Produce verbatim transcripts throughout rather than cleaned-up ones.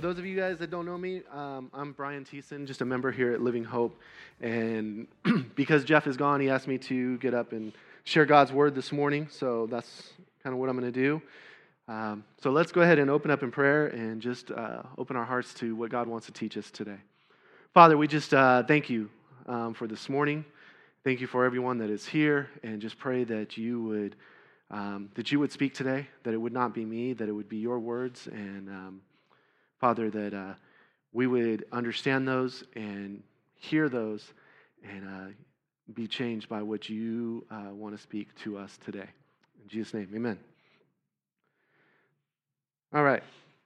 for those of you guys that don't know me, um, I'm Brian Thiessen, just a member here at Living Hope. And because Jeff is gone, he asked me to get up and share God's word this morning. So that's kind of what I'm going to do. Um, so let's go ahead and open up in prayer and just uh, open our hearts to what God wants to teach us today. Father, we just uh, thank you um, for this morning. Thank you for everyone that is here, and just pray that you would um, that you would speak today, that it would not be me, that it would be your words, and um, Father, that uh, we would understand those and hear those and uh, be changed by what you uh, want to speak to us today. In Jesus' name, amen. All right.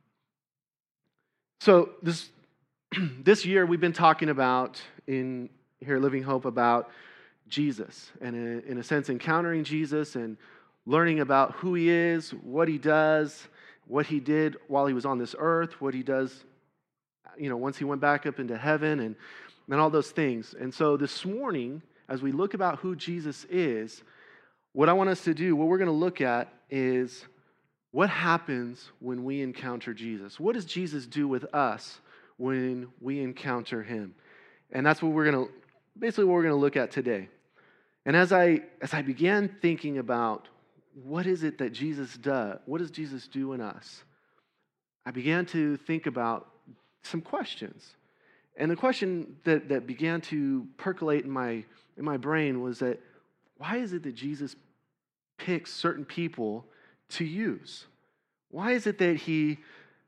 So this this year we've been talking about in here at Living Hope about Jesus, and in, in a sense encountering Jesus and learning about who he is, what he does, what he did while he was on this earth, what he does, you know, once he went back up into heaven, and, and all those things. And so this morning, as we look about who Jesus is, what I want us to do, what we're going to look at is what happens when we encounter Jesus. What does Jesus do with us when we encounter him? And that's what we're going to, basically what we're going to look at today. And as I as I began thinking about what is it that Jesus does, what does Jesus do in us, I began to think about some questions. And the question that, that began to percolate in my in my brain was that, why is it that Jesus picks certain people to use? Why is it that he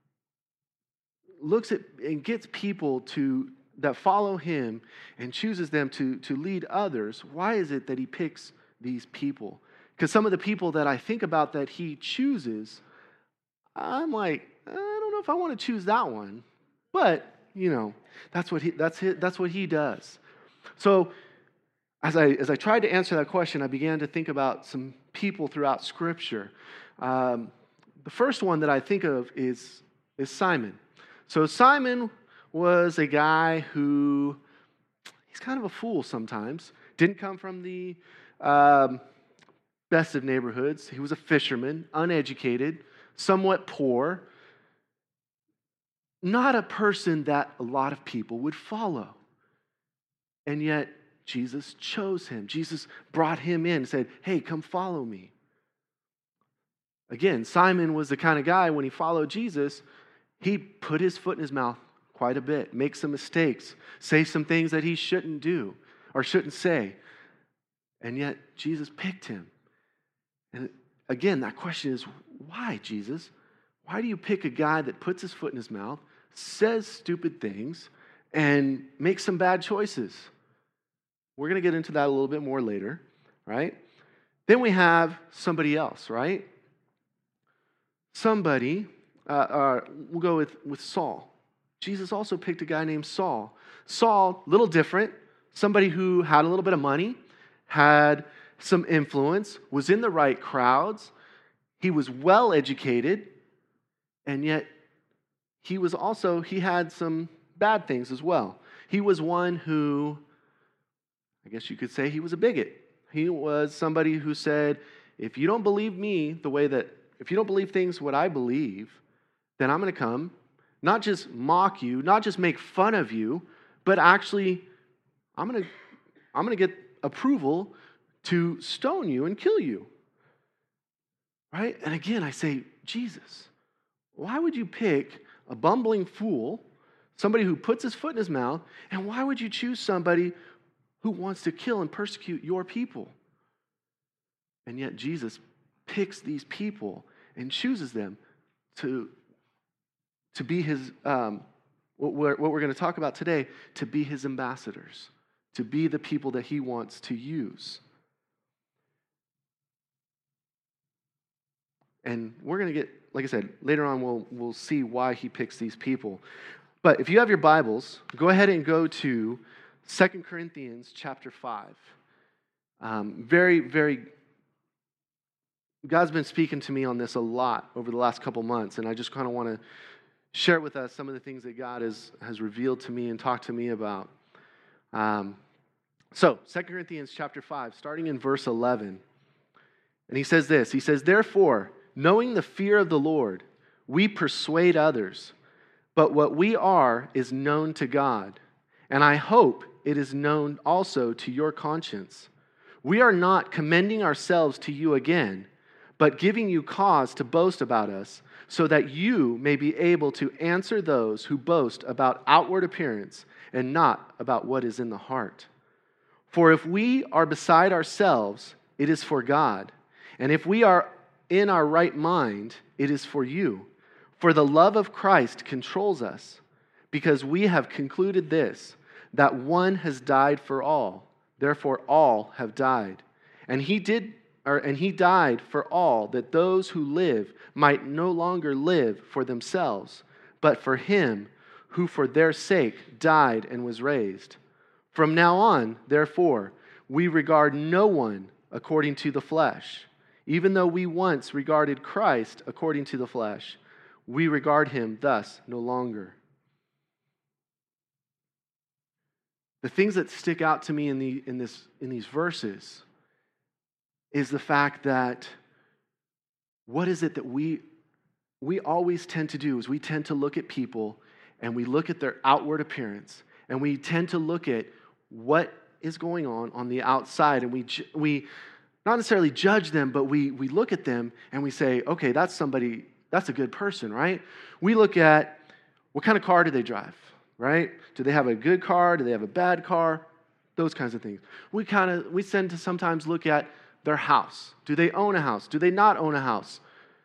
looks at and gets people to that follow him and chooses them to, to lead others? Why is it that he picks these people? Because some of the people that I think about that he chooses, I'm like, I don't know if I want to choose that one. But, you know, that's what he that's his, that's what he does. So as I as I tried to answer that question, I began to think about some people throughout Scripture. Um, the first one that I think of is is Simon. So Simon was a guy who, he's kind of a fool sometimes. Didn't come from the um, best of neighborhoods. He was a fisherman, uneducated, somewhat poor. Not a person that a lot of people would follow. And yet, Jesus chose him. Jesus brought him in and said, hey, come follow me. Again, Simon was the kind of guy, when he followed Jesus, he put his foot in his mouth quite a bit, make some mistakes, say some things that he shouldn't do or shouldn't say. And yet, Jesus picked him. And again, that question is, why, Jesus? Why do you pick a guy that puts his foot in his mouth, says stupid things, and makes some bad choices? We're going to get into that a little bit more later, right? Then we have somebody else, right? Somebody, uh, uh, we'll go with, with Saul. Jesus also picked a guy named Saul. Saul, a little different, somebody who had a little bit of money, had some influence, was in the right crowds, he was well educated, and yet he was also, he had some bad things as well. He was one who, I guess you could say he was a bigot. He was somebody who said, if you don't believe me the way that, if you don't believe things what I believe, then I'm going to come, not just mock you, not just make fun of you, but actually, I'm going to, I'm going to get approval to stone you and kill you. Right? And again, I say, Jesus, why would you pick a bumbling fool, somebody who puts his foot in his mouth, and why would you choose somebody who wants to kill and persecute your people? And yet Jesus picks these people and chooses them to, to be his, um, what we're, what we're going to talk about today, to be his ambassadors, to be the people that he wants to use. And we're going to get, like I said, later on we'll we'll see why he picks these people. But if you have your Bibles, go ahead and go to Second Corinthians chapter five. Um, very, very, God's been speaking to me on this a lot over the last couple months, and I just kind of want to share with us some of the things that God has, has revealed to me and talked to me about. Um, so, Second Corinthians chapter five, starting in verse eleven. And he says this, he says, therefore, knowing the fear of the Lord, we persuade others. But what we are is known to God, and I hope it is known also to your conscience. We are not commending ourselves to you again, but giving you cause to boast about us, so that you may be able to answer those who boast about outward appearance and not about what is in the heart. For if we are beside ourselves, it is for God, and if we are in our right mind, it is for you. For the love of Christ controls us, because we have concluded this, that one has died for all, therefore all have died. And he did or, and he died for all, that those who live might no longer live for themselves, but for him who for their sake died and was raised. From now on, therefore, we regard no one according to the flesh. Even though we once regarded Christ according to the flesh, we regard him thus no longer. The things that stick out to me in, the, in, this, in these verses is the fact that what is it that we, we always tend to do is we tend to look at people and we look at their outward appearance and we tend to look at what is going on on the outside, and we we not necessarily judge them, but we we look at them and we say, okay, that's somebody, that's a good person, right? We look at what kind of car do they drive, right? Do they have a good car? Do they have a bad car? Those kinds of things. We kind of we tend to sometimes look at their house. Do they own a house? Do they not own a house?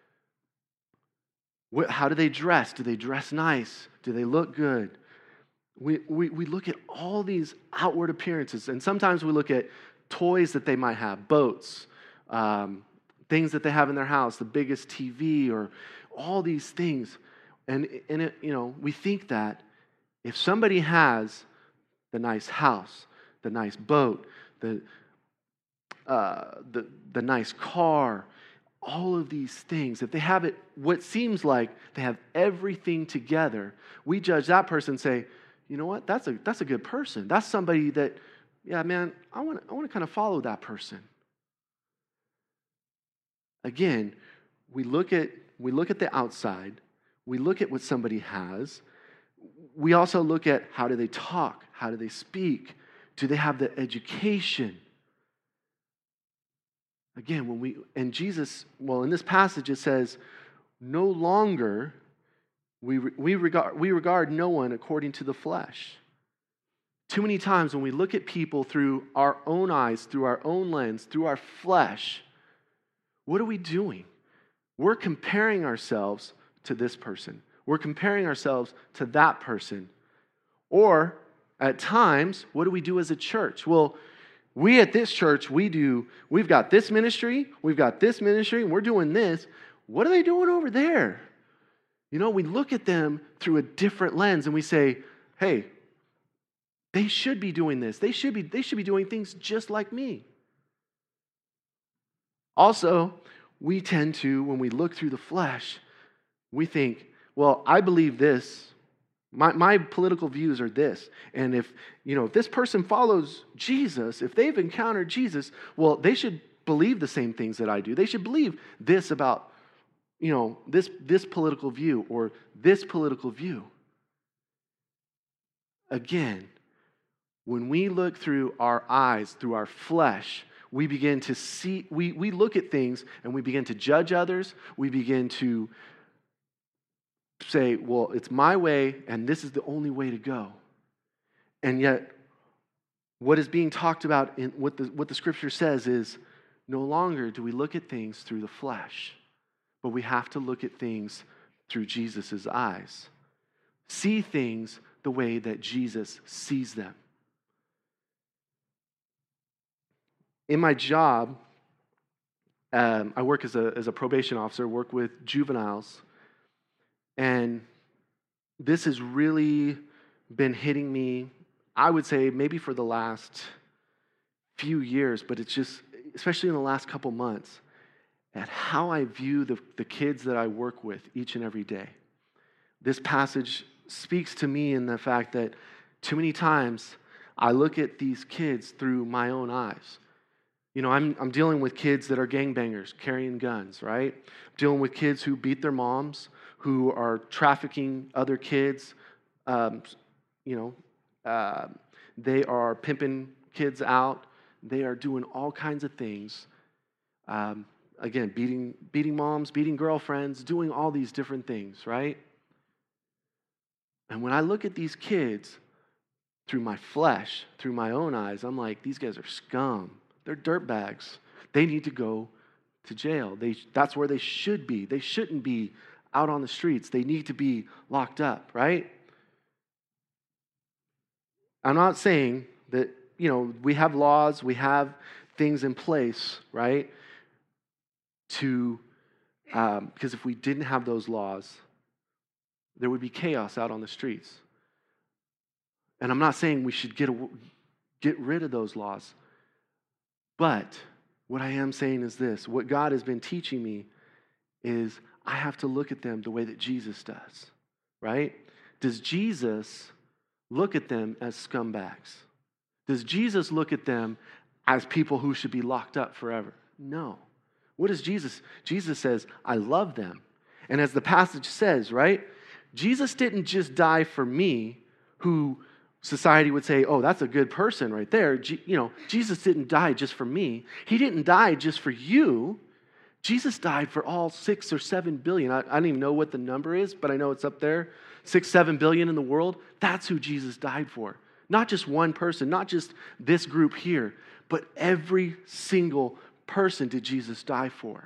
How do they dress? Do they dress nice? Do they look good? We, we we look at all these outward appearances, and sometimes we look at toys that they might have, boats, um, things that they have in their house, the biggest T V, or all these things. And, and it, you know, we think that if somebody has the nice house, the nice boat, the uh, the the nice car, all of these things, if they have it, what seems like they have everything together, we judge that person and say, you know what, that's a that's a good person. That's somebody that, yeah, man, I want I want to kind of follow that person. Again, we look at we look at the outside, we look at what somebody has. We also look at how do they talk, how do they speak, do they have the education? Again, when we, and Jesus, well, in this passage it says, no longer we, we, regard, we regard no one according to the flesh. Too many times when we look at people through our own eyes, through our own lens, through our flesh, what are we doing? We're comparing ourselves to this person. We're comparing ourselves to that person. Or, at times, what do we do as a church? Well, we at this church, we do, we've got this ministry, we've got this ministry, and we're doing this. What are they doing over there? You know, we look at them through a different lens and we say, hey, they should be doing this. They should be, they should be doing things just like me. Also, we tend to, when we look through the flesh, we think, well, I believe this. My, my political views are this. And if, you know, if this person follows Jesus, if they've encountered Jesus, well, they should believe the same things that I do. They should believe this about, you know, this, this political view or this political view. Again, when we look through our eyes, through our flesh, we begin to see, we, we look at things and we begin to judge others. We begin to say, well, it's my way and this is the only way to go. And yet, what is being talked about in what the, what the scripture says is, no longer do we look at things through the flesh, but we have to look at things through Jesus' eyes. See things the way that Jesus sees them. In my job, um, I work as a, as a probation officer, work with juveniles. And this has really been hitting me, I would say, maybe for the last few years, but it's just, especially in the last couple months, at how I view the, the kids that I work with each and every day. This passage speaks to me in the fact that too many times I look at these kids through my own eyes. You know, I'm I'm dealing with kids that are gangbangers, carrying guns, right? I'm dealing with kids who beat their moms, who are trafficking other kids. Um, you know, uh, they are pimping kids out. They are doing all kinds of things. Um, again, beating beating moms, beating girlfriends, doing all these different things, right? And when I look at these kids through my flesh, through my own eyes, I'm like, these guys are scum. They're dirtbags. They need to go to jail. They, that's where they should be. They shouldn't be out on the streets. They need to be locked up, right? I'm not saying that, you know, we have laws, we have things in place, right? To, um, because if we didn't have those laws, there would be chaos out on the streets. And I'm not saying we should get, get rid of those laws. But what I am saying is this. What God has been teaching me is I have to look at them the way that Jesus does, right? Does Jesus look at them as scumbags? Does Jesus look at them as people who should be locked up forever? No. What does Jesus? Jesus says, I love them. And as the passage says, right? Jesus didn't just die for me, who society would say, oh, that's a good person right there. G- you know, Jesus didn't die just for me. He didn't die just for you. Jesus died for all six or seven billion. I, I don't even know what the number is, but I know it's up there. Six, seven billion in the world. That's who Jesus died for. Not just one person, not just this group here, but every single person did Jesus die for.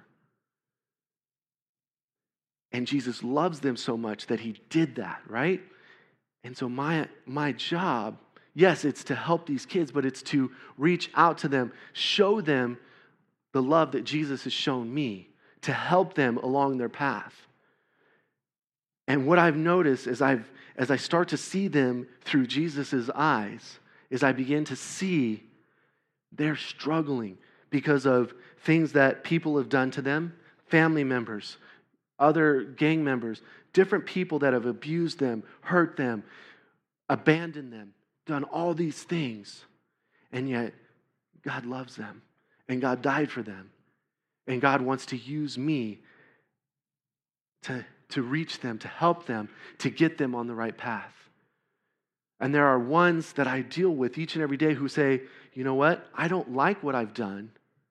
And Jesus loves them so much that he did that, right? And so my, my job, yes, it's to help these kids, but it's to reach out to them, show them the love that Jesus has shown me, to help them along their path. And what I've noticed as I've as I start to see them through Jesus' eyes, is I begin to see they're struggling because of things that people have done to them, family members, other gang members, different people that have abused them, hurt them, abandoned them, done all these things. And yet, God loves them. And God died for them. And God wants to use me to, to reach them, to help them, to get them on the right path. And there are ones that I deal with each and every day who say, you know what? I don't like what I've done,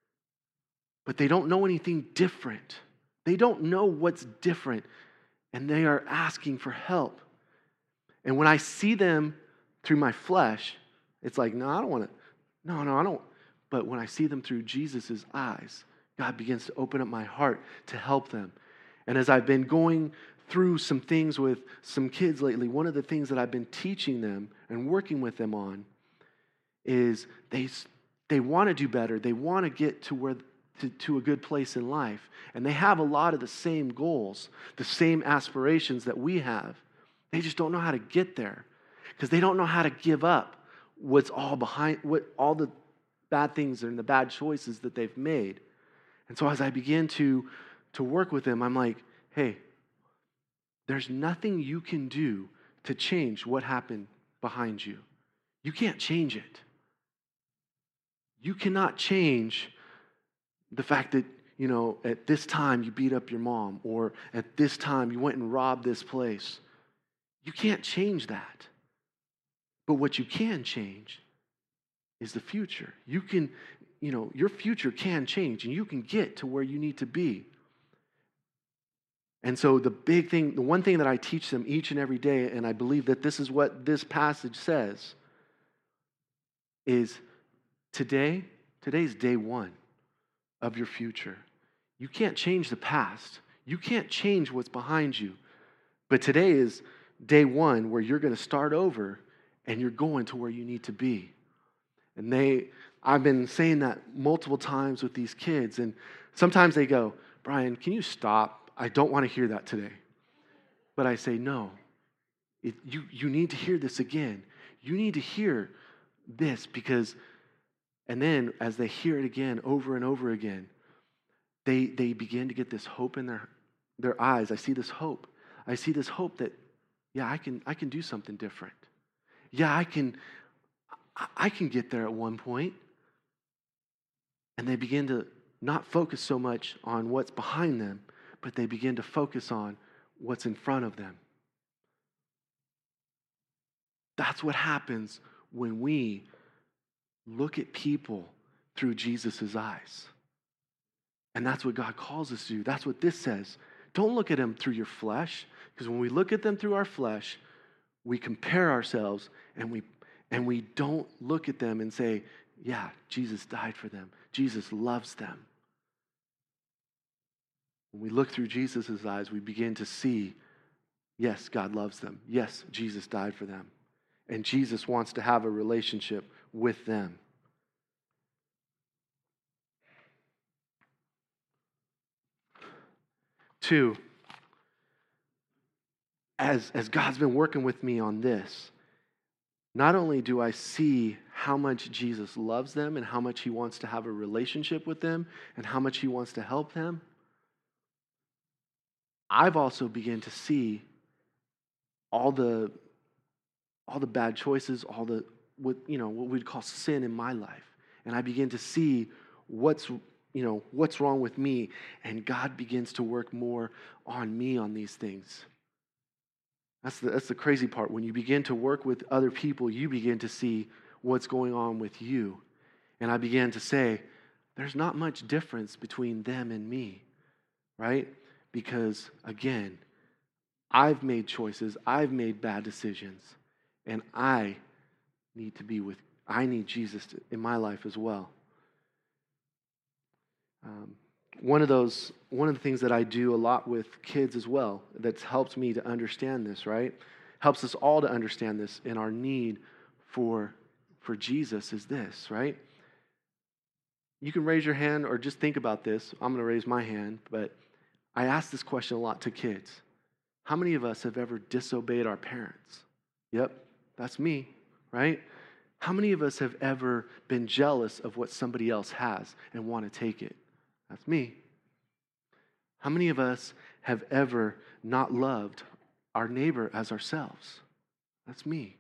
but they don't know anything different. They don't know what's different, and they are asking for help. And when I see them through my flesh, it's like, no, I don't want to. No, no, I don't. But when I see them through Jesus' eyes, God begins to open up my heart to help them. And as I've been going through some things with some kids lately, one of the things that I've been teaching them and working with them on is they they want to do better. They want to get to where to, to a good place in life. And they have a lot of the same goals, the same aspirations that we have. They just don't know how to get there because they don't know how to give up what's all behind, what all the bad things and the bad choices that they've made. And so as I begin to, to work with them, I'm like, hey, there's nothing you can do to change what happened behind you. You can't change it. You cannot change the fact that, you know, at this time you beat up your mom, or at this time you went and robbed this place. You can't change that. But what you can change is the future. You can, you know, your future can change and you can get to where you need to be. And so the big thing, the one thing that I teach them each and every day, and I believe that this is what this passage says, is today, today's day one of your future. You can't change the past. You can't change what's behind you. But today is day one where you're going to start over and you're going to where you need to be. And they, I've been saying that multiple times with these kids, and sometimes they go, Brian, can you stop? I don't want to hear that today. But I say, no, it, you, you need to hear this again. You need to hear this because, and then as they hear it again over and over again, they, they begin to get this hope in their, their eyes. I see this hope. I see this hope that, yeah, I can, I can do something different. Yeah, I can, I can get there at one point. And they begin to not focus so much on what's behind them, but they begin to focus on what's in front of them. That's what happens when we look at people through Jesus' eyes. And that's what God calls us to do. That's what this says. Don't look at them through your flesh, because when we look at them through our flesh, we compare ourselves and we and we don't look at them and say, yeah, Jesus died for them. Jesus loves them. When we look through Jesus' eyes, we begin to see, yes, God loves them. Yes, Jesus died for them. And Jesus wants to have a relationship with them. Two, as, as God's been working with me on this, not only do I see how much Jesus loves them and how much he wants to have a relationship with them and how much he wants to help them, I've also begun to see all the all the bad choices, all the what you know what we'd call sin in my life, and I begin to see what's you know what's wrong with me, and God begins to work more on me on these things. That's the, that's the crazy part. When you begin to work with other people, you begin to see what's going on with you. And I began to say, there's not much difference between them and me, right? Because, again, I've made choices, I've made bad decisions, and I need to be with, I need Jesus to, in my life as well. Um, One of those, one of the things that I do a lot with kids as well that's helped me to understand this, right? Helps us all to understand this in our need for, for Jesus is this, right? You can raise your hand or just think about this. I'm going to raise my hand, but I ask this question a lot to kids. How many of us have ever disobeyed our parents? Yep, that's me, right? How many of us have ever been jealous of what somebody else has and want to take it? That's me. How many of us have ever not loved our neighbor as ourselves? That's me.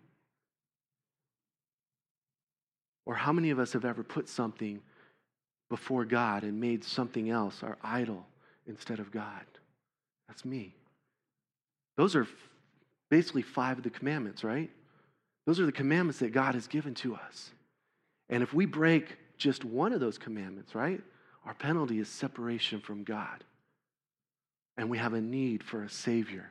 Or how many of us have ever put something before God and made something else our idol instead of God? That's me. Those are basically five of the commandments, right? Those are the commandments that God has given to us. And if we break just one of those commandments, right? Our penalty is separation from God. And we have a need for a Savior.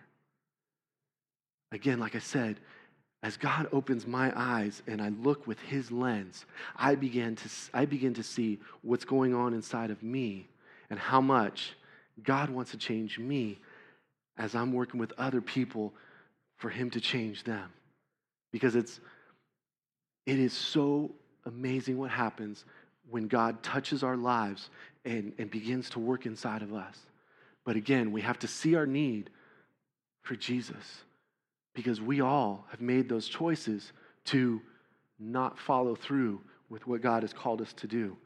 Again, like I said, as God opens my eyes and I look with his lens, I begin to, I begin to see what's going on inside of me and how much God wants to change me as I'm working with other people for him to change them. Because it's, it is so amazing what happens when God touches our lives and, and begins to work inside of us. But again, we have to see our need for Jesus because we all have made those choices to not follow through with what God has called us to do.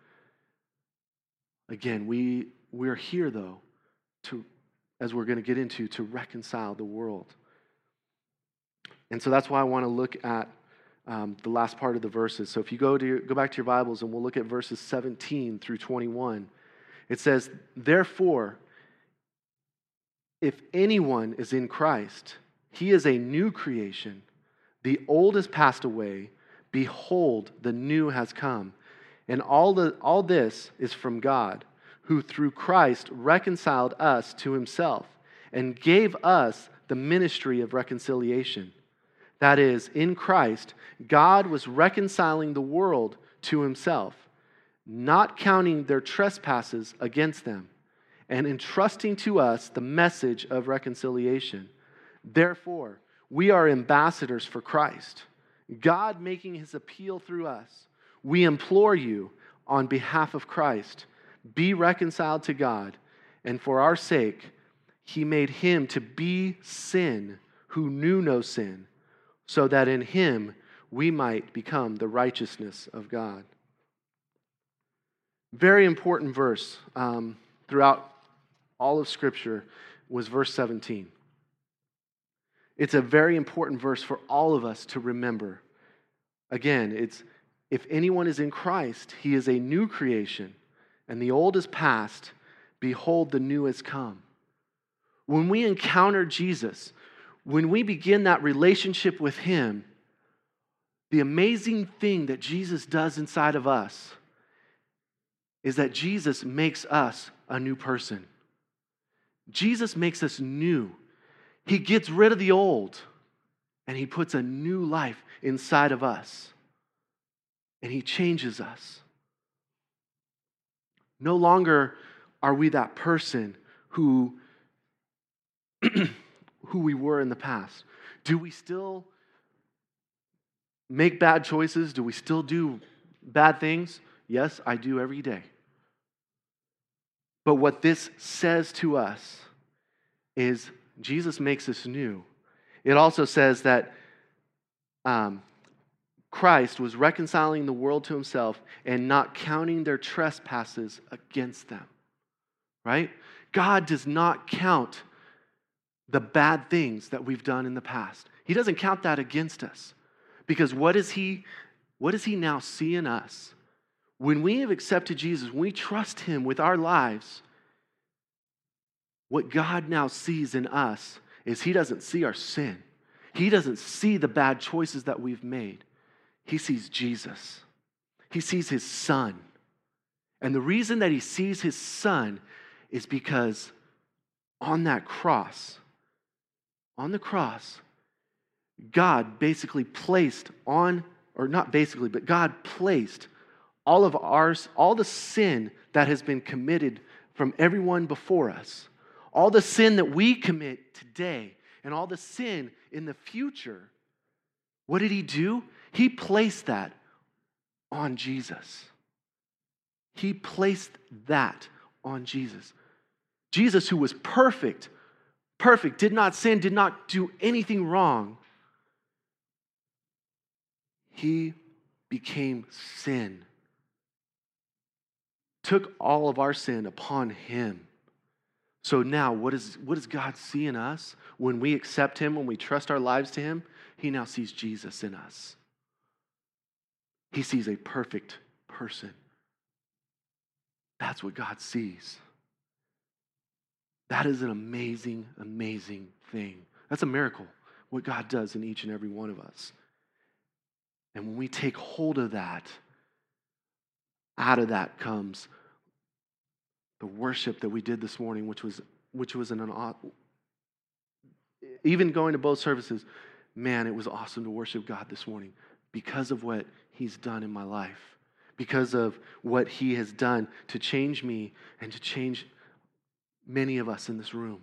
Again, we, we're here, though, to, as we're going to get into, to reconcile the world. And so that's why I want to look at Um, the last part of the verses. So if you go to your, go back to your Bibles and we'll look at verses seventeen through twenty-one. It says, therefore, if anyone is in Christ, he is a new creation. The old has passed away. Behold, the new has come. And all the all this is from God, who through Christ reconciled us to himself and gave us the ministry of reconciliation. That is, in Christ, God was reconciling the world to himself, not counting their trespasses against them, and entrusting to us the message of reconciliation. Therefore, we are ambassadors for Christ, God making his appeal through us. We implore you, on behalf of Christ, be reconciled to God, and for our sake, he made him to be sin who knew no sin, so that in him we might become the righteousness of God. Very important verse um, throughout all of Scripture was verse seventeen. It's a very important verse for all of us to remember. Again, it's if anyone is in Christ, he is a new creation, and the old is past, behold, the new has come. When we encounter Jesus, when we begin that relationship with him, the amazing thing that Jesus does inside of us is that Jesus makes us a new person. Jesus makes us new. He gets rid of the old and he puts a new life inside of us. And he changes us. No longer are we that person who, who we were in the past. Do we still make bad choices? Do we still do bad things? Yes, I do every day. But what this says to us is Jesus makes us new. It also says that um, Christ was reconciling the world to himself and not counting their trespasses against them. Right? God does not count the bad things that we've done in the past. He doesn't count that against us. Because what is he, what does he now see in us? When we have accepted Jesus, when we trust him with our lives, what God now sees in us is he doesn't see our sin. He doesn't see the bad choices that we've made. He sees Jesus. He sees his son. And the reason that he sees his son is because on that cross, on the cross, God basically placed on, or not basically, but God placed all of ours, all the sin that has been committed from everyone before us, all the sin that we commit today, and all the sin in the future. What did he do? He placed that on Jesus. He placed that on Jesus. Jesus, who was perfect, perfect, did not sin, did not do anything wrong. He became sin. Took all of our sin upon him. So now, what, is, what does God see in us? When we accept him, when we trust our lives to him, he now sees Jesus in us. He sees a perfect person. That's what God sees. That is an amazing, amazing thing. That's a miracle, what God does in each and every one of us. And when we take hold of that, out of that comes the worship that we did this morning, which was which was an even going to both services, man, it was awesome to worship God this morning because of what he's done in my life, because of what he has done to change me and to change many of us in this room.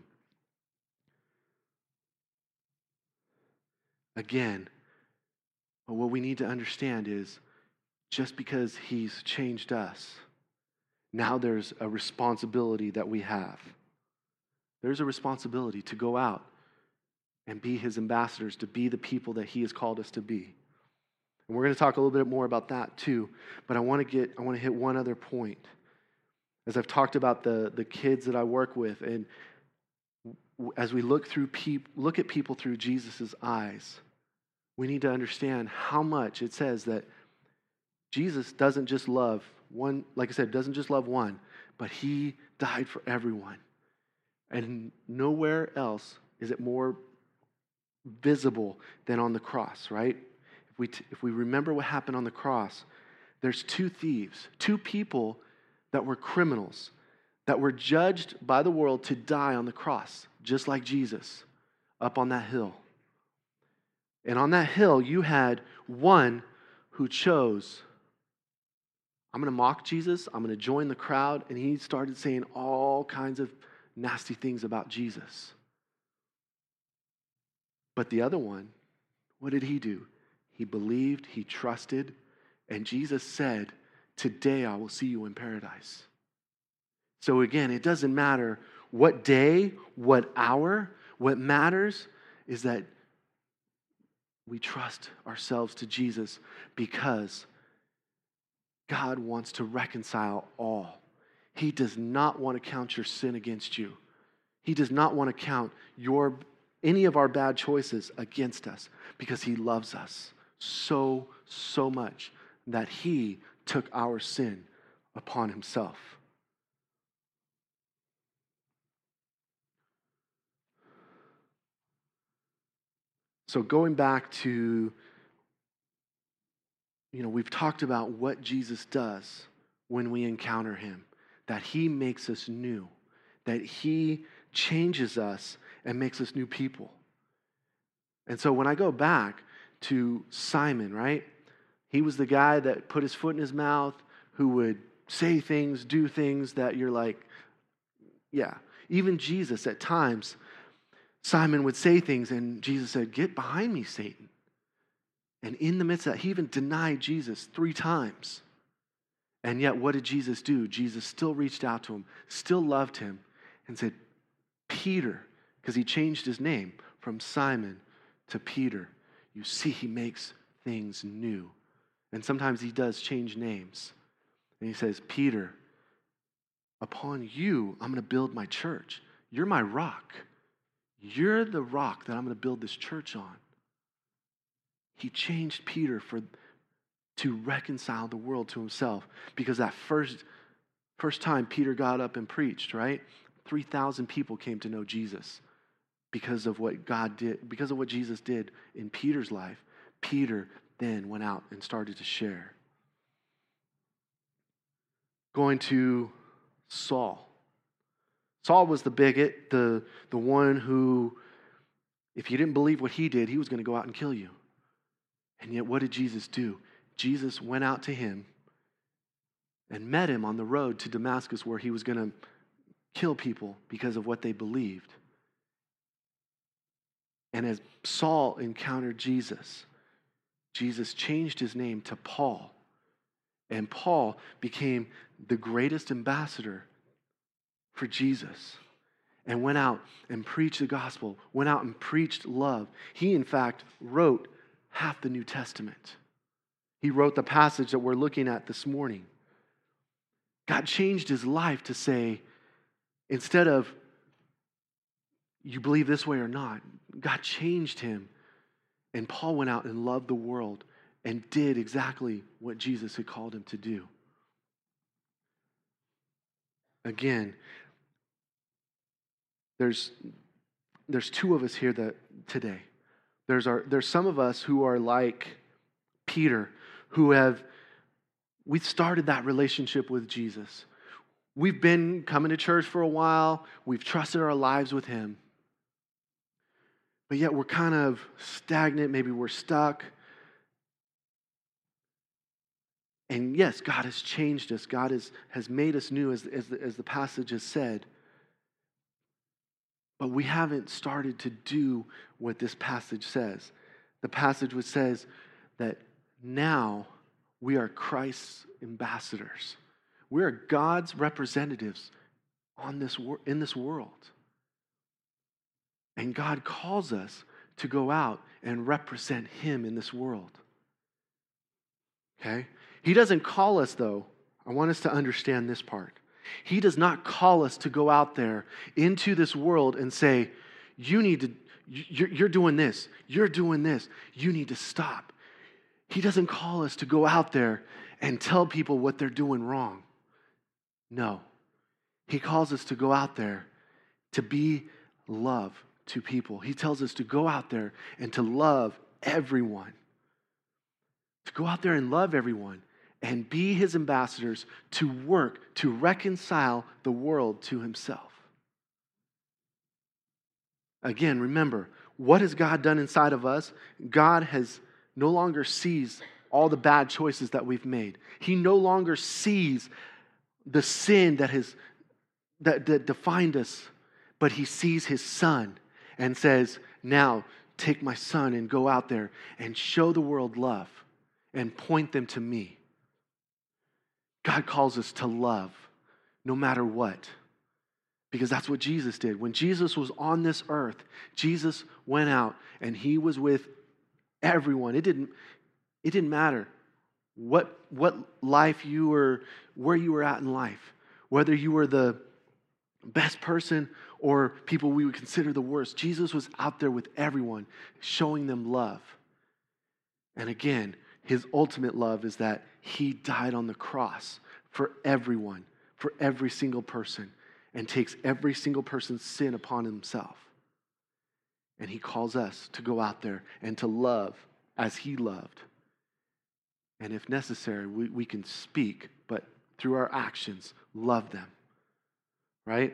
Again, what we need to understand is just because he's changed us, now there's a responsibility that we have. There's a responsibility to go out and be his ambassadors, to be the people that he has called us to be. And we're going to talk a little bit more about that too, but I want to get I want to hit one other point. As I've talked about the, the kids that I work with, and as we look through peop, look at people through Jesus' eyes, we need to understand how much it says that Jesus doesn't just love one, like I said, doesn't just love one, but he died for everyone. And nowhere else is it more visible than on the cross, right? If we, t- if we remember what happened on the cross, there's two thieves, two people that were criminals, that were judged by the world to die on the cross, just like Jesus, up on that hill. And on that hill, you had one who chose, I'm going to mock Jesus, I'm going to join the crowd, and he started saying all kinds of nasty things about Jesus. But the other one, what did he do? He believed, he trusted, and Jesus said, today I will see you in paradise. So again, it doesn't matter what day, what hour, what matters is that we trust ourselves to Jesus because God wants to reconcile all. He does not want to count your sin against you. He does not want to count your any of our bad choices against us because he loves us so, so much that he took our sin upon himself. So going back to, you know, we've talked about what Jesus does when we encounter him, that he makes us new, that he changes us and makes us new people. And so when I go back to Simon, right? He was the guy that put his foot in his mouth, who would say things, do things that you're like, yeah. Even Jesus at times, Simon would say things and Jesus said, "Get behind me, Satan." And in the midst of that, he even denied Jesus three times. And yet what did Jesus do? Jesus still reached out to him, still loved him, and said, "Peter," because he changed his name from Simon to Peter. You see, he makes things new. And sometimes he does change names. And he says, "Peter, upon you, I'm going to build my church. You're my rock. You're the rock that I'm going to build this church on." He changed Peter for to reconcile the world to himself. Because that first, first time Peter got up and preached, right? three thousand people came to know Jesus because of what God did, because of what Jesus did in Peter's life. Peter then went out and started to share. Going to Saul. Saul was the bigot, the, the one who, if you didn't believe what he did, he was going to go out and kill you. And yet what did Jesus do? Jesus went out to him and met him on the road to Damascus, where he was going to kill people because of what they believed. And as Saul encountered Jesus, Jesus changed his name to Paul. And Paul became the greatest ambassador for Jesus and went out and preached the gospel, went out and preached love. He, in fact, wrote half the New Testament. He wrote the passage that we're looking at this morning. God changed his life to say, instead of, you believe this way or not, God changed him. And Paul went out and loved the world and did exactly what Jesus had called him to do. Again, there's, there's two of us here that today. There's, our, there's some of us who are like Peter, who have, we've started that relationship with Jesus. We've been coming to church for a while. We've trusted our lives with him. But yet we're kind of stagnant. Maybe we're stuck. And yes, God has changed us. God has, has made us new, as, as, the, as the passage has said. But we haven't started to do what this passage says. The passage which says that now we are Christ's ambassadors. We are God's representatives on this wor- in this world. And God calls us to go out and represent him in this world. Okay? He doesn't call us, though. I want us to understand this part. He does not call us to go out there into this world and say, you need to, you're, you're doing this, you're doing this, you need to stop. He doesn't call us to go out there and tell people what they're doing wrong. No. He calls us to go out there to be love to people. He tells us to go out there and to love everyone. To go out there and love everyone and be his ambassadors, to work to reconcile the world to himself. Again, remember, what has God done inside of us? God has no longer sees all the bad choices that we've made. He no longer sees the sin that has that, that defined us, but he sees his son and says, now take my son and go out there and show the world love and point them to me. God calls us to love no matter what, because that's what Jesus did. When Jesus was on this earth, Jesus went out and he was with everyone. It didn't, it didn't matter what, what life you were, where you were at in life, whether you were the best person or people we would consider the worst. Jesus was out there with everyone, showing them love. And again, his ultimate love is that he died on the cross for everyone, for every single person, and takes every single person's sin upon himself. And he calls us to go out there and to love as he loved. And if necessary, we, we can speak, but through our actions, love them. Right?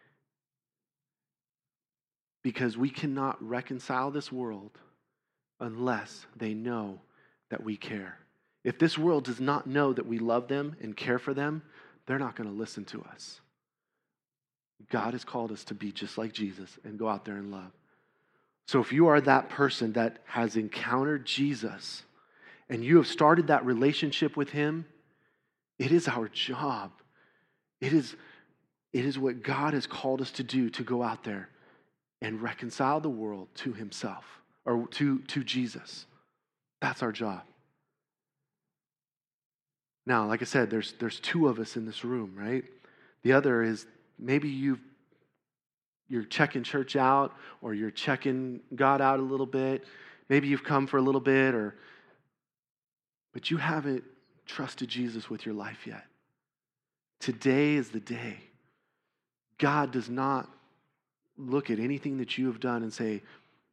Because we cannot reconcile this world unless they know that we care. If this world does not know that we love them and care for them, they're not going to listen to us. God has called us to be just like Jesus and go out there and love. So if you are that person that has encountered Jesus and you have started that relationship with him, it is our job. It is, it is what God has called us to do, to go out there and reconcile the world to himself, or to, to Jesus. That's our job. Now, like I said, there's, there's two of us in this room, right? The other is maybe you've you're checking church out, or you're checking God out a little bit. Maybe you've come for a little bit, or but you haven't trusted Jesus with your life yet. Today is the day. God does not look at anything that you have done and say,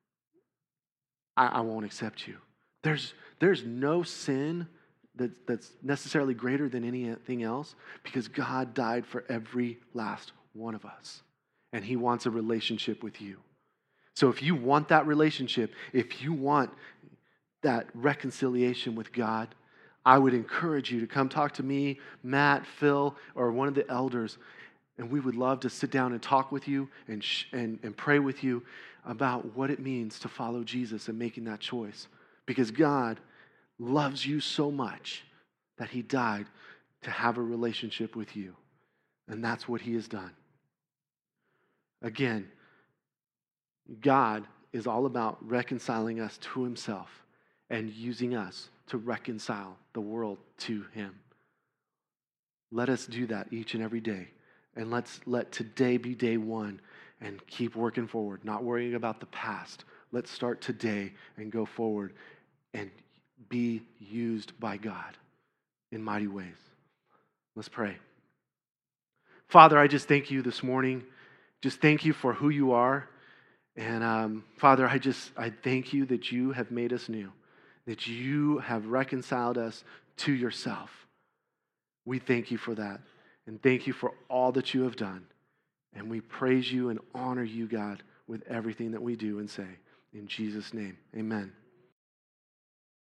I, I won't accept you. There's, there's no sin that, that's necessarily greater than anything else, because God died for every last one of us. And he wants a relationship with you. So if you want that relationship, if you want that reconciliation with God, I would encourage you to come talk to me, Matt, Phil, or one of the elders, and we would love to sit down and talk with you and, sh- and, and pray with you about what it means to follow Jesus and making that choice. Because God loves you so much that he died to have a relationship with you. And that's what he has done. Again, God is all about reconciling us to himself and using us to reconcile the world to him. Let us do that each and every day. And let's let today be day one and keep working forward, not worrying about the past. Let's start today and go forward and be used by God in mighty ways. Let's pray. Father, I just thank you this morning. Just thank you for who you are. And um, Father, I just, I thank you that you have made us new, that you have reconciled us to yourself. We thank you for that. And thank you for all that you have done. And we praise you and honor you, God, with everything that we do and say. In Jesus' name, amen.